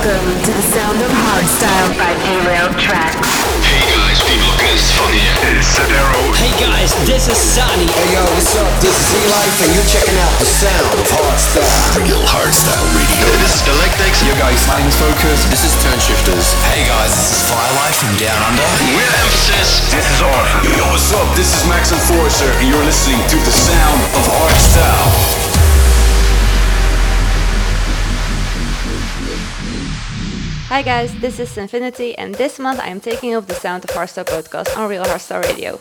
Welcome to the sound of hardstyle by Derailed Tracks. Hey guys, P-Blockers van hier. It's Sadero. Hey guys, this is Sani. Hey yo, what's up? This is E-Life and you're checking out the sound of hardstyle. Real Hardstyle Radio. This is Galactics. Yo guys, my name is Focus. This is Turnshifters. Hey guys, this is Firelight from Down Under. With emphasis. This is Arthur. Yo, what's up? This is Max Enforcer and you're listening to the sound of hardstyle. Hi guys, this is Infinity, and this month I am taking up the Sound of Hardstyle podcast on Real Hardstyle Radio.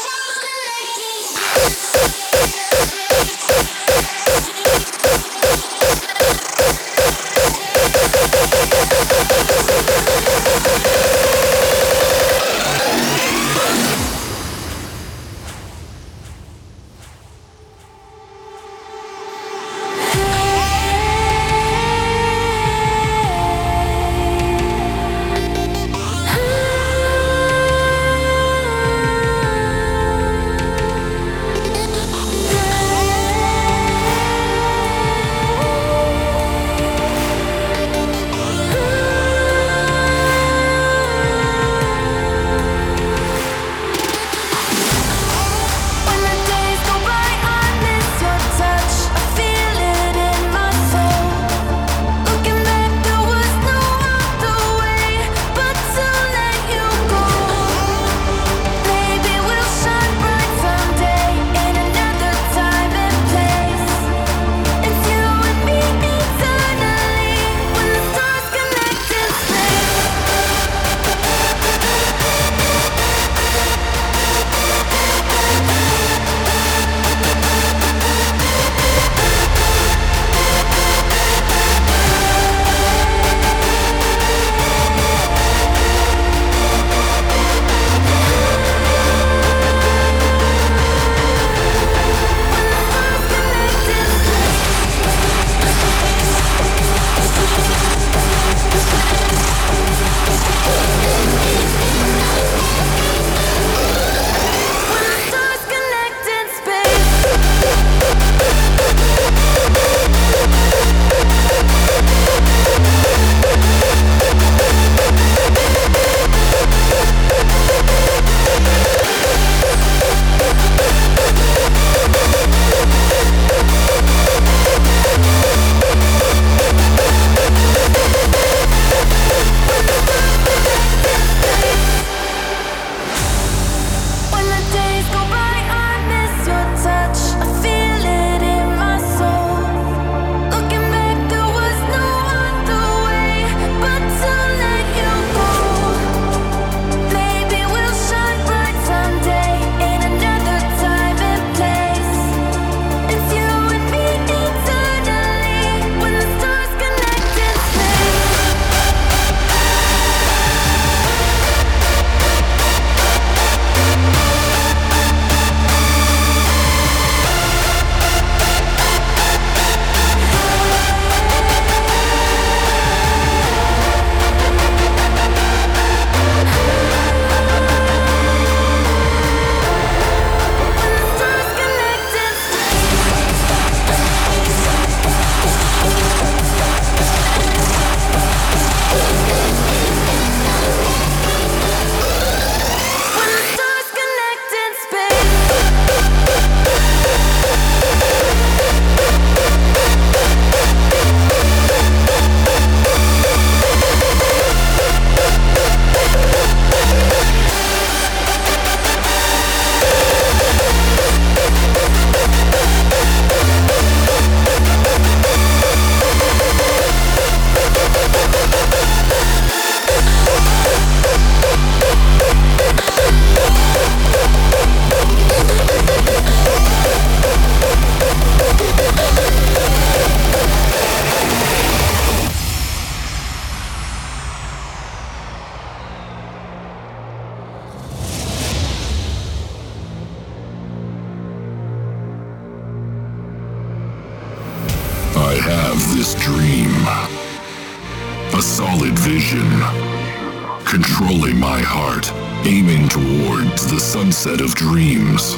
Controlling my heart, aiming towards the sunset of dreams.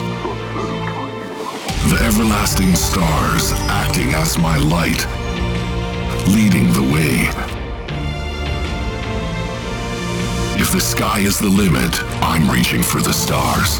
The everlasting stars acting as my light, leading the way. If the sky is the limit, I'm reaching for the stars.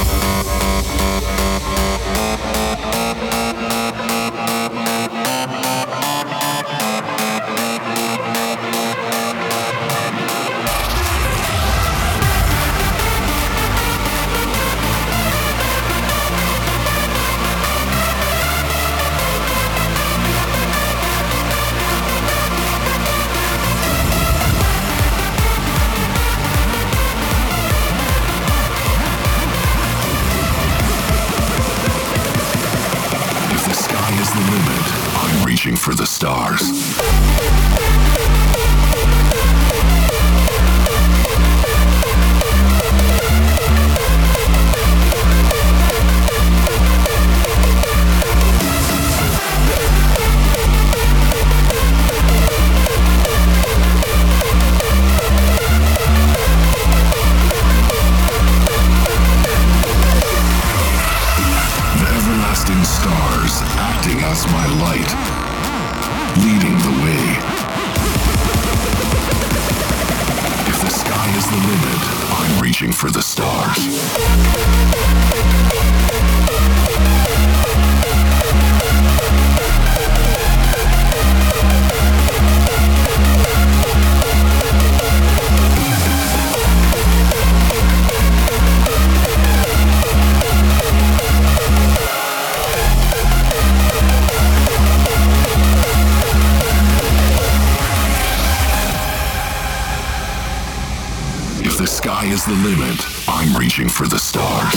The limit. I'm reaching for the stars. Stars acting as my light, leading the way. If the sky is the limit, I'm reaching for the stars. If the sky is the limit, I'm reaching for the stars.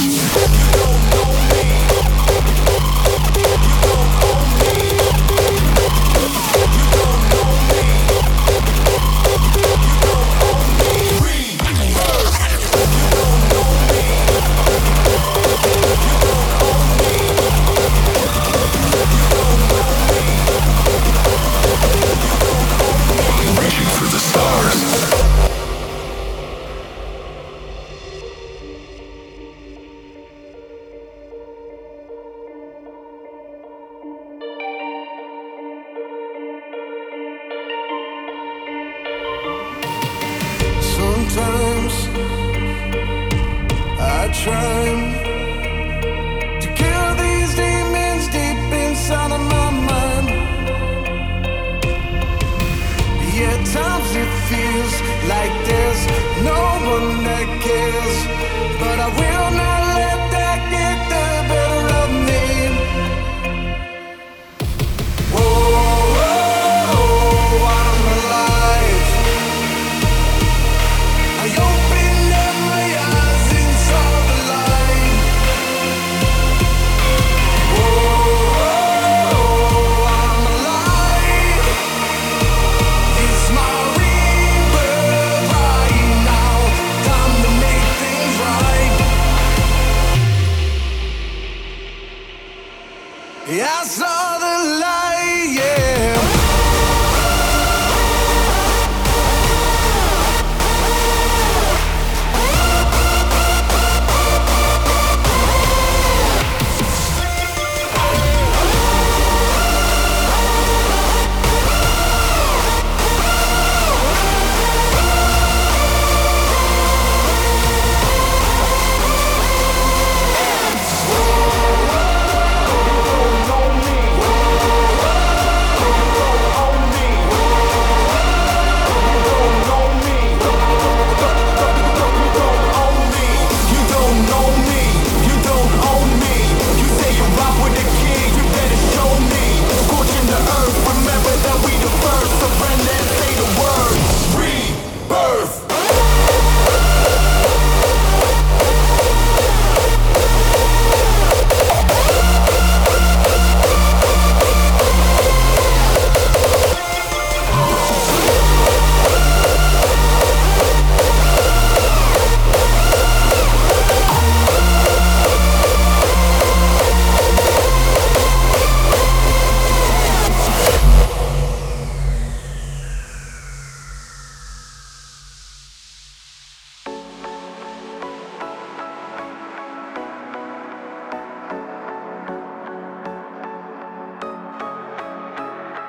Reaching for the stars. Sometimes I try to kill these demons deep inside of my mind. Yet times it feels like there's no one that cares, but I will not let that get the better of me. Whoa, I'm alive. I opened up my eyes and saw the light. Whoa, I'm alive. It's my rebirth right now. Time to make things right. Yeah, I saw the light, yeah.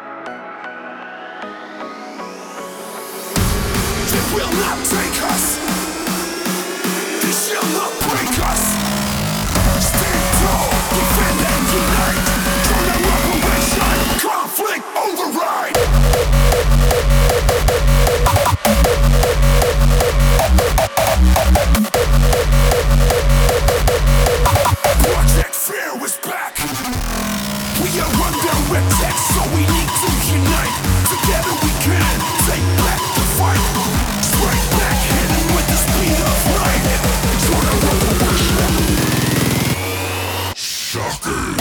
Will not take us. shall not break us. Stand tall, defend and unite. Join our operation, conflict override. Project Fear is back. We are under attack, so we need to unite. Together we can take back the fight. Strike back, hitting with the speed of light. Join our revolution. Shockers.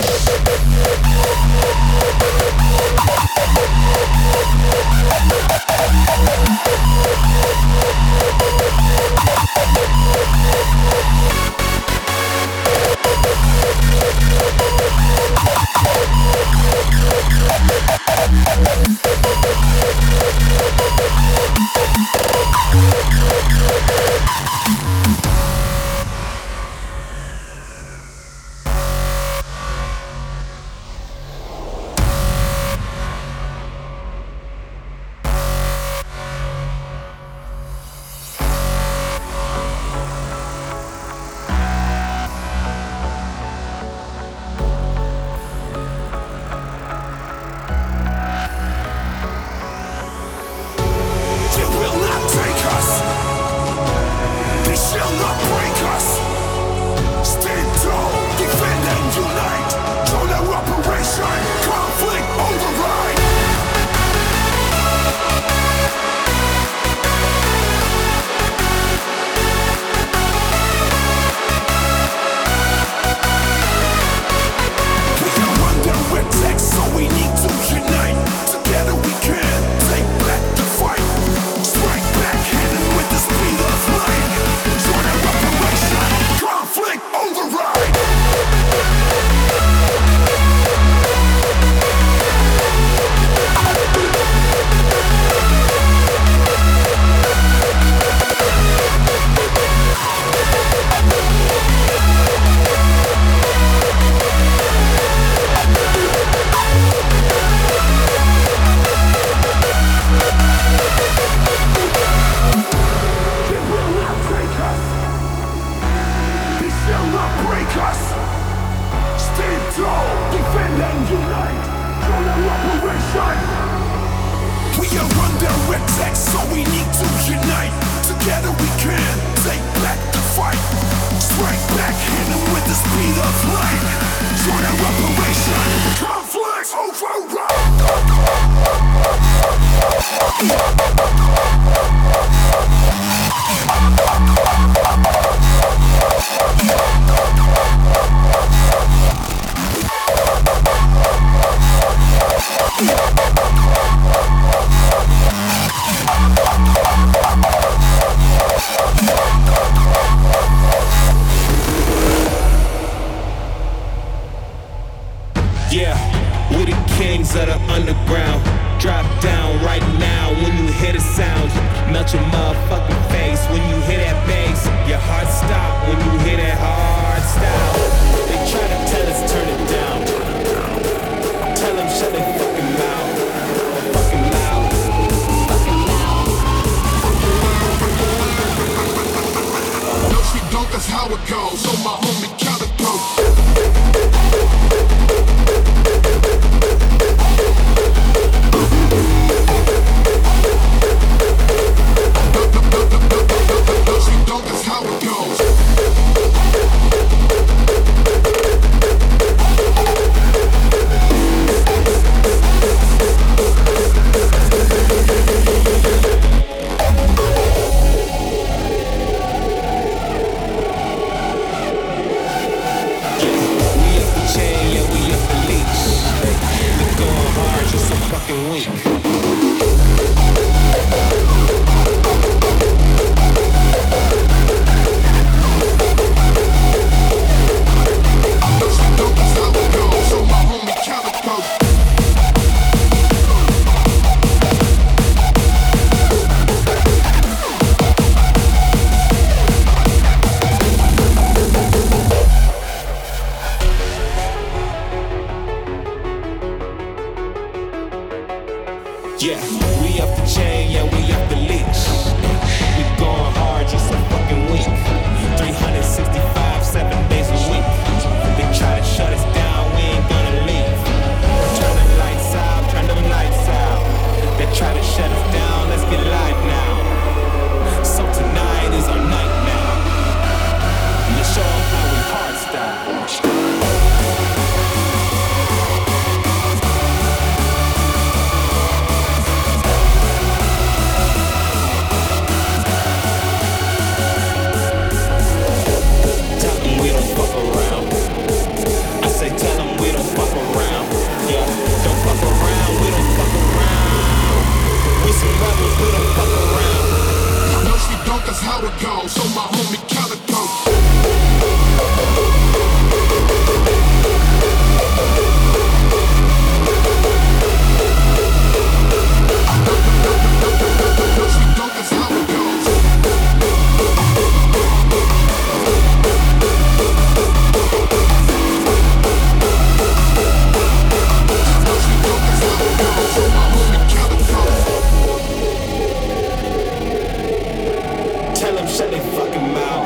Yeah, we up the chain, yeah, we up the leash. We going hard, just a fucking week. 300 365, 7 days a week. They try to shut us down, we ain't gonna leave. Turn the lights out, turn them lights out. They try to shut us down, let's get live now. So tonight is our night now. Let's show them how we hard style. That's how it goes. So my homie Calico. That's how it goes. So my homie Calico. Tell them shut they fucking mouth.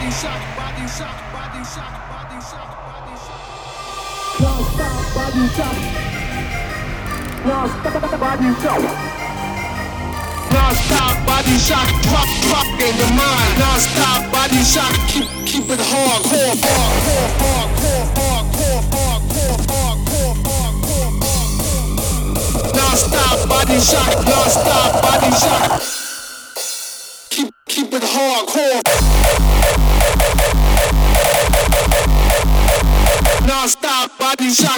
Non-stop body shock, drop in your mind. Non-stop body shock, keep it hardcore, hardcore, hardcore, hardcore, hardcore, hardcore, hardcore. Non-stop body shock, non-stop body shock. Keep it hardcore. Non-stop body shock.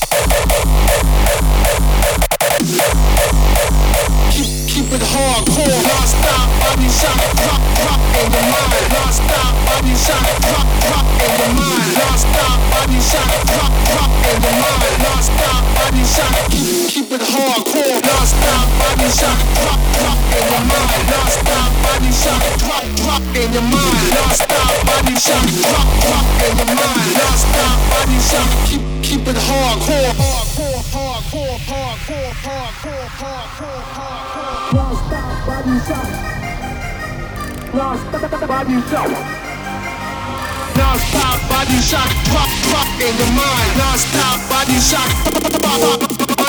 Keep it hardcore, non-stop body shock, drop in your mind. Non-stop body shock, drop in your mind. Non-stop body shock, drop in your mind. Non-stop body shock, keep it hardcore. Non-stop body shock, drop in your mind. Non-stop body shock, drop in your mind. Non-stop body shock, drop in your mind. Non-stop body shock, keep it hardcore. Hardcore, hardcore, hardcore, hardcore, hardcore, hardcore. Non-stop body shock. Non-stop body shock. Non-stop body shock. Drop in your mind. Non-stop body shock. Non-stop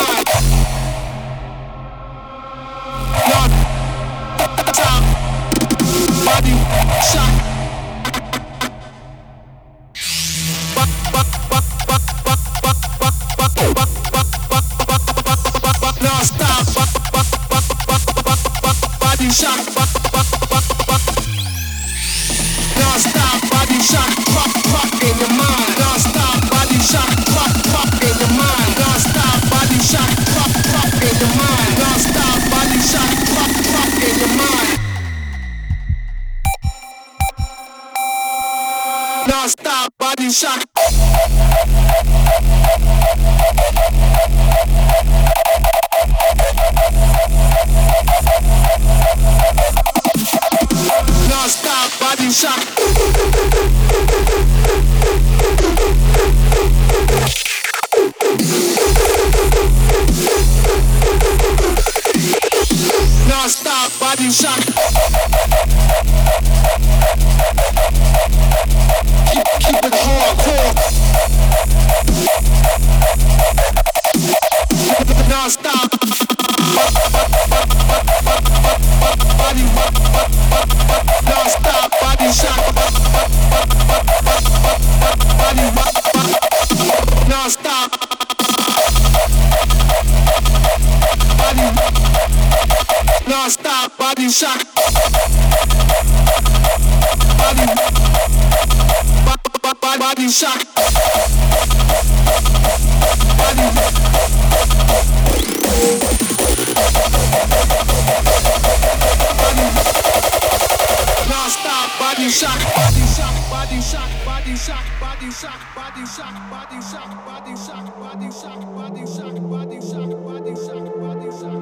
body shock. Non-stop body shock. Non-stop body shock. Drop in your mind. Non-stop body shock. Drop in your mind. Non-stop body shock. Drop in your mind. Non-stop body shock. Drop in your mind. Non-stop body shock. Non-stop body shock. Non-stop body shock. Keep it hardcore. Non-stop body. Non-stop body shock. Body. Non-stop body. Non-stop body shock. Body. Body shock. Body. Non-stop body shock. Body shock. Body shock. Body shock. Body shock. Body shock. Body shock. Body shock. Body shock. Body shock. Body shock. Body shock. Body shock.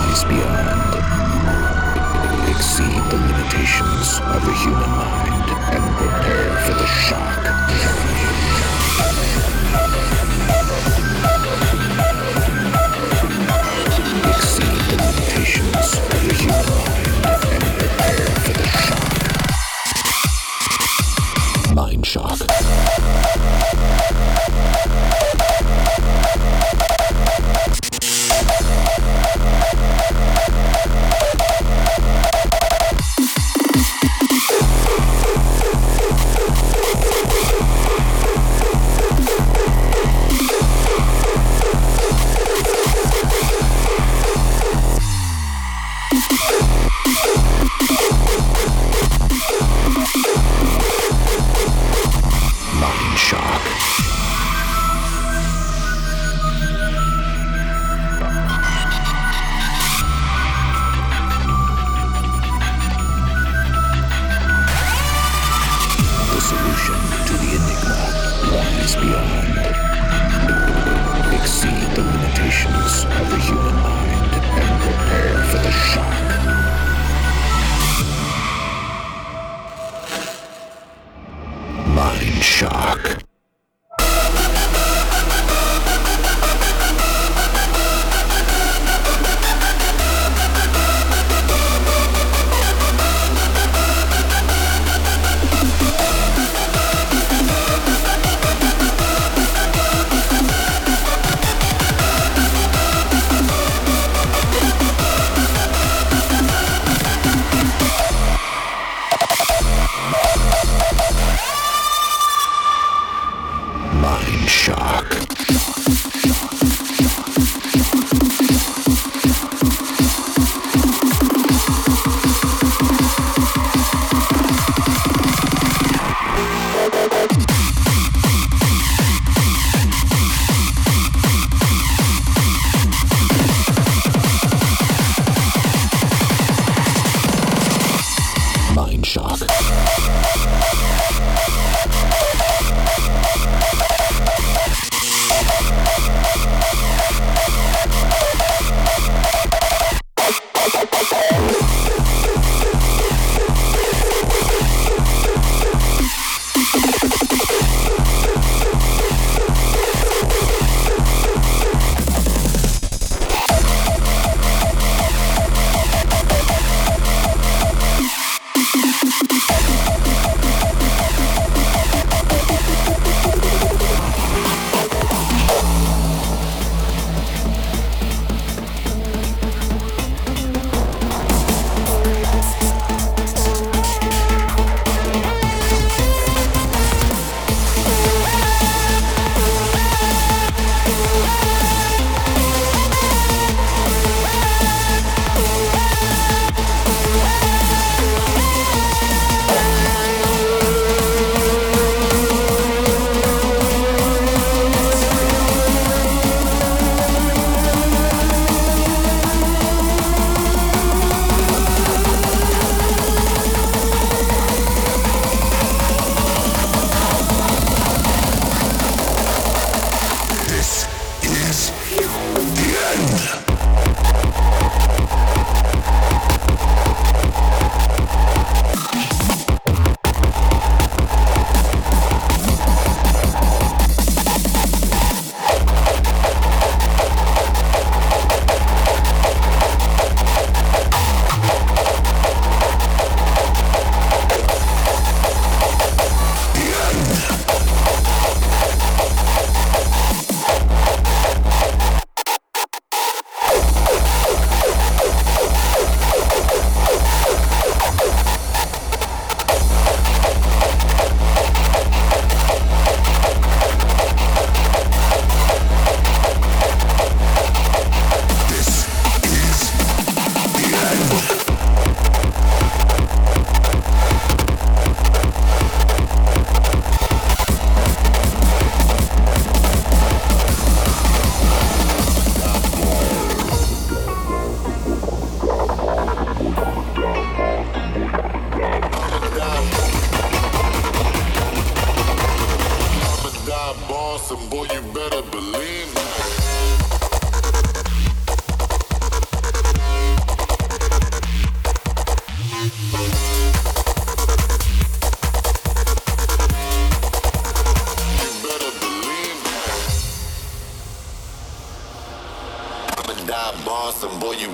is beyond. Exceed the limitations of the human mind and prepare for the shock. Exceed the limitations of the human mind and prepare for the shock. Mind shock.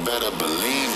better believe.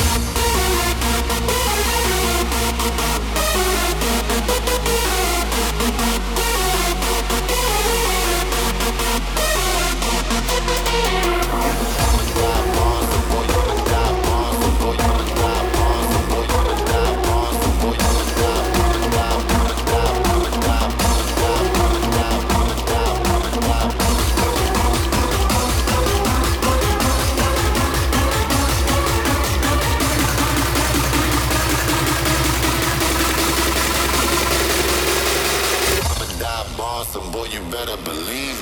Some boy, you better believe.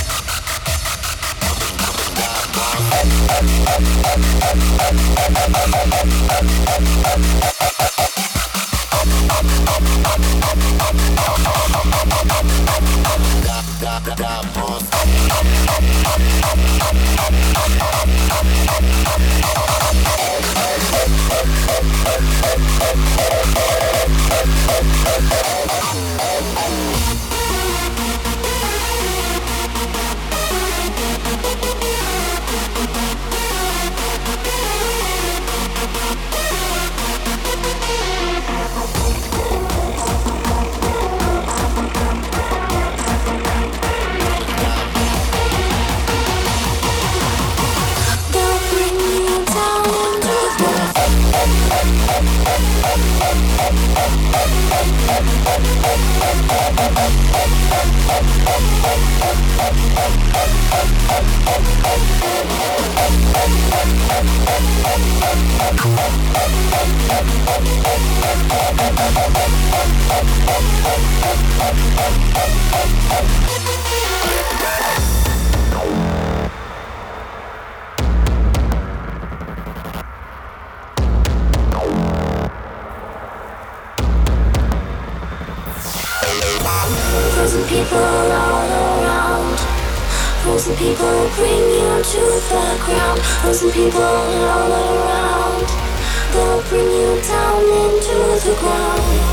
Frozen people all around. Frozen people bring you to the ground. Frozen people all around. They'll bring you down into the ground.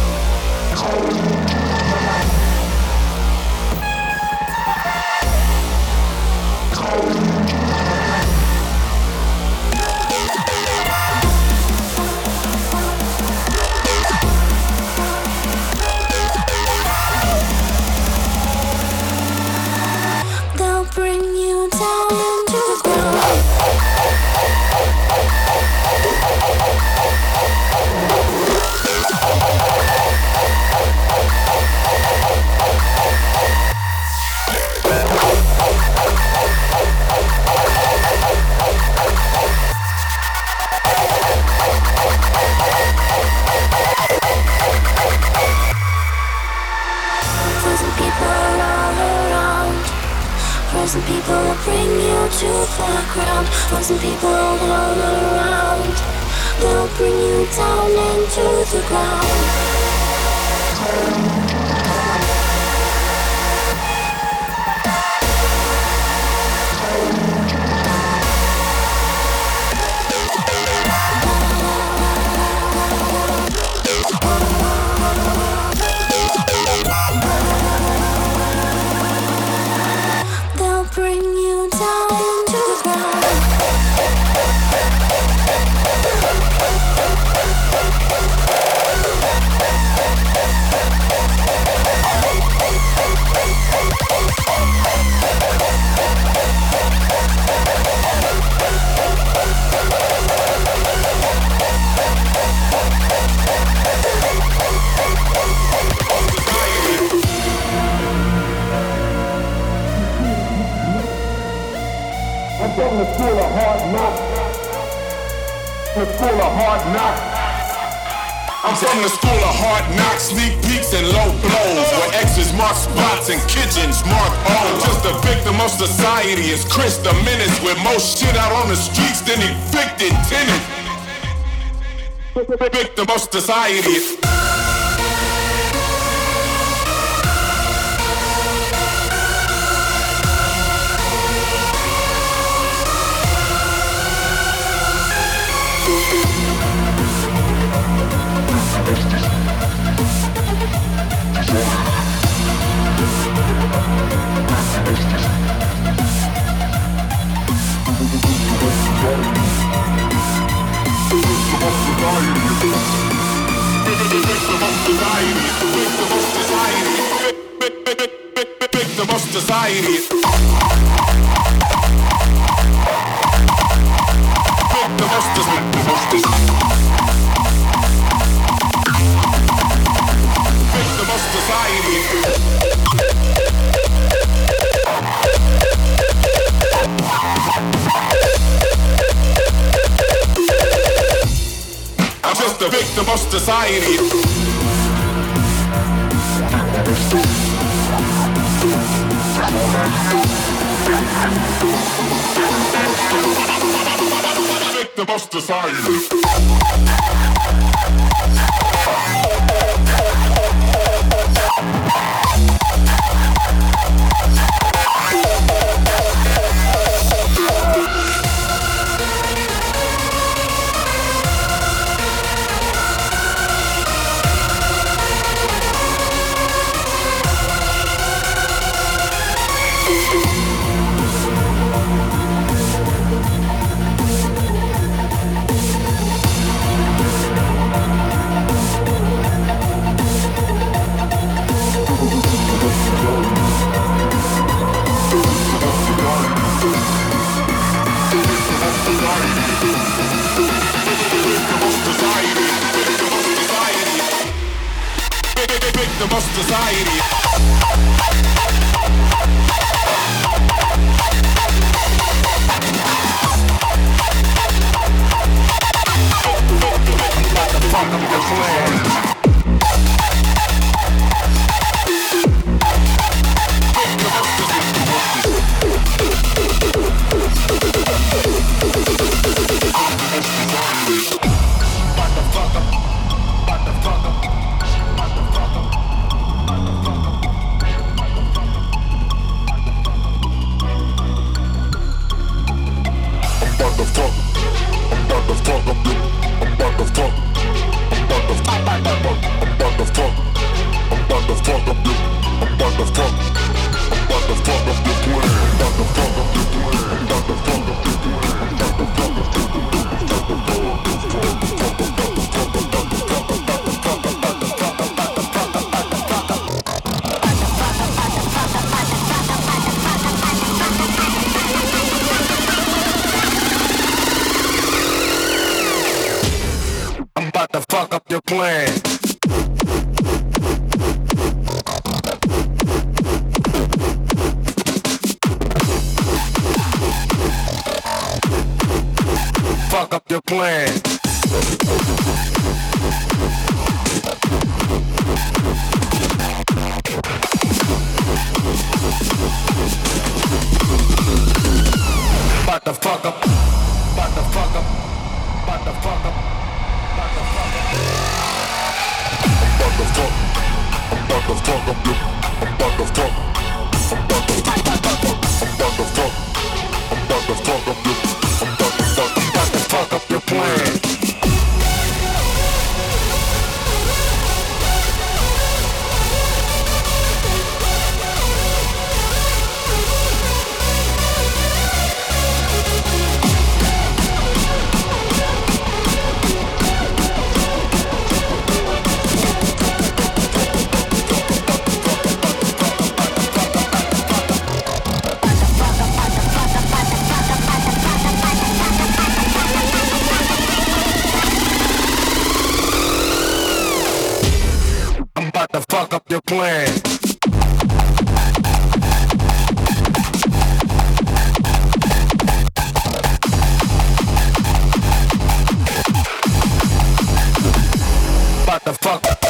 Bring you down into the ground. Frozen people all around. Frozen people bring you to the ground. Frozen people all around. They'll bring you down into the ground. Bring you down into the ground. From the school of hard knocks. The school of hard knocks. I'm from the school of hard knocks, sneak peeks and low blows, where X's mark spots and kitchens mark O's. Just a victim of society is Chris the Menace, with more shit out on the streets than evicted tenants. Victim of society. Victim of society. I'm just a victim of society. Victim of society. Victim of society. About to fuck up your plan. To fuck up your plan. Fuck up your plan. About to fuck up. About to fuck up. About to fuck up. I'm about to fuck up your, I'm about to fuck, I'm about to fuck up your, I'm about to fuck up your plan. To fuck up your plan. About to fuck up.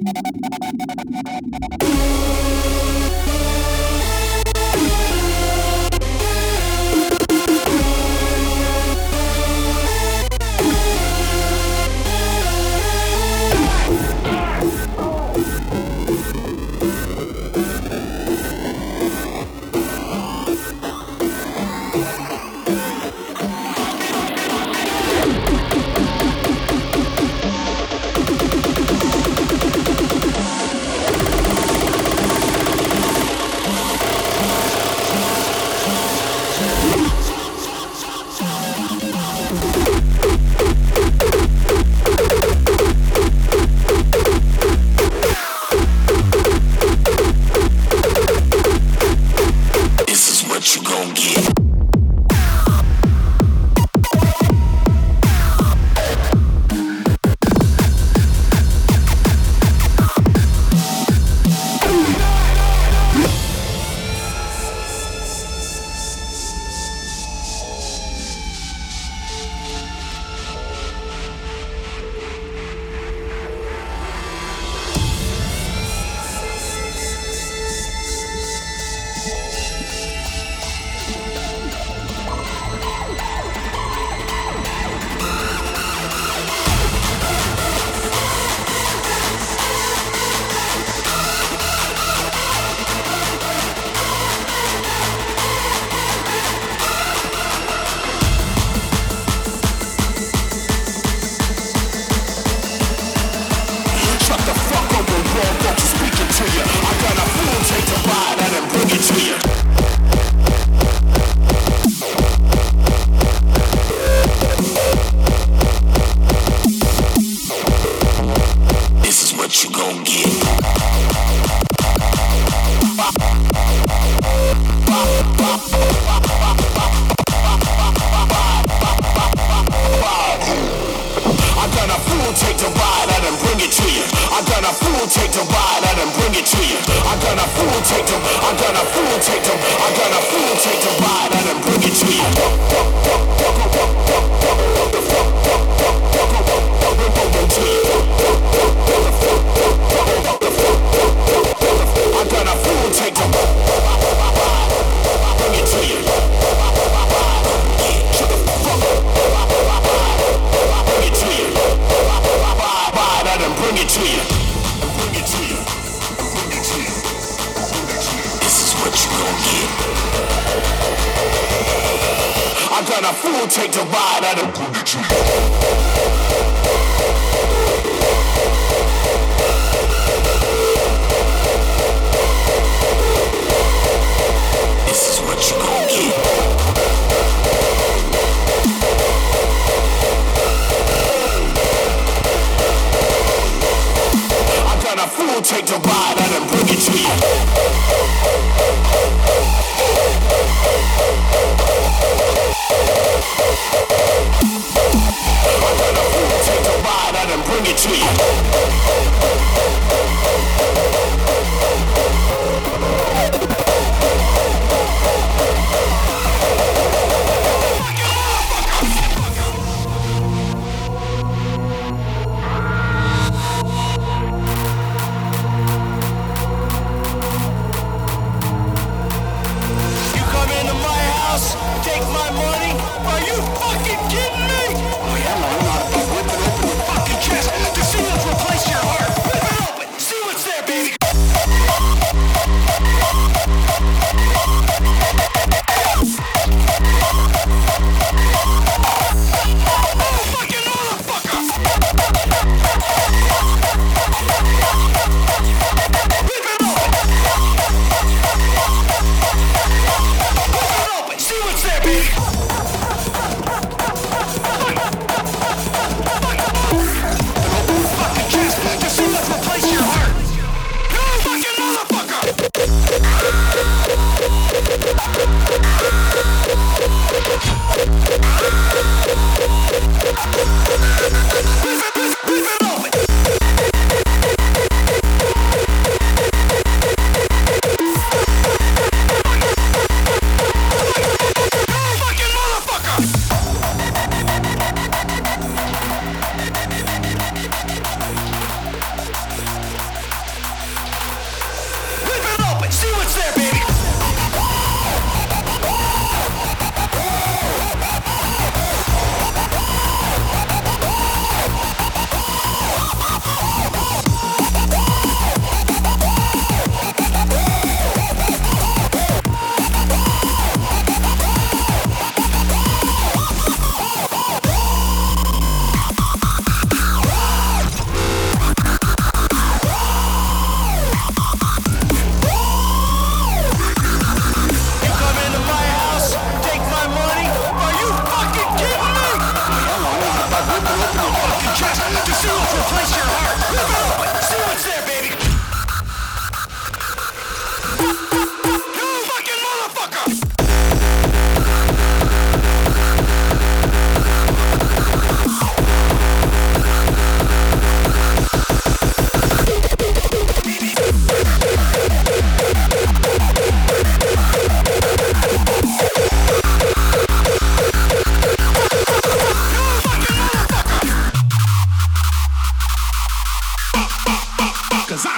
Decisions replace your heart.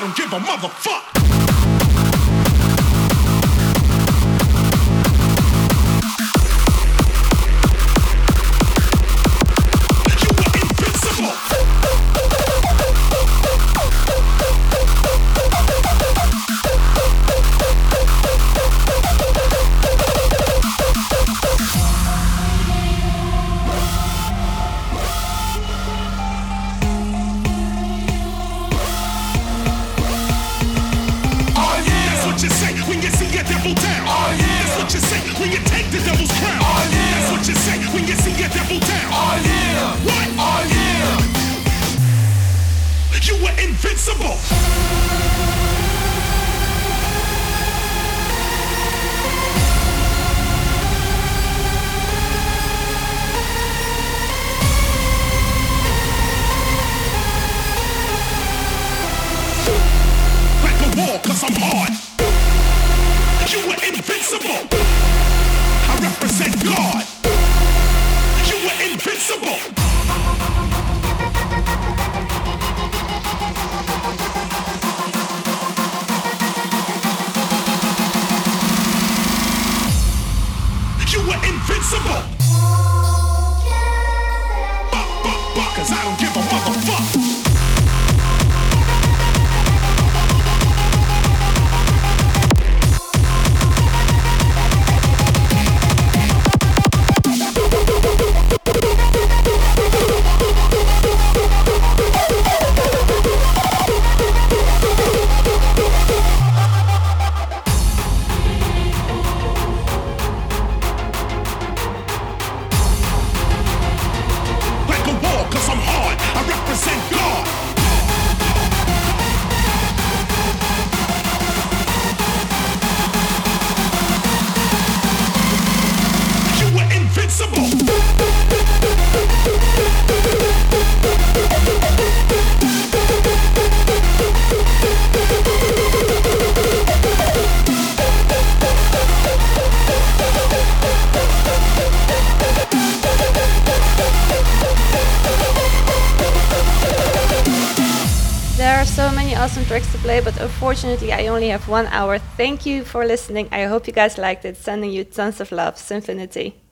don't give a motherfuck. Cause I'm hard. You were invincible. I represent God. You were invincible. You were invincible. Cause I don't give a motherfucker. Awesome tracks to play, but unfortunately I only have 1 hour. Thank you for listening. I hope you guys liked it. Sending you tons of love. Sinfinity.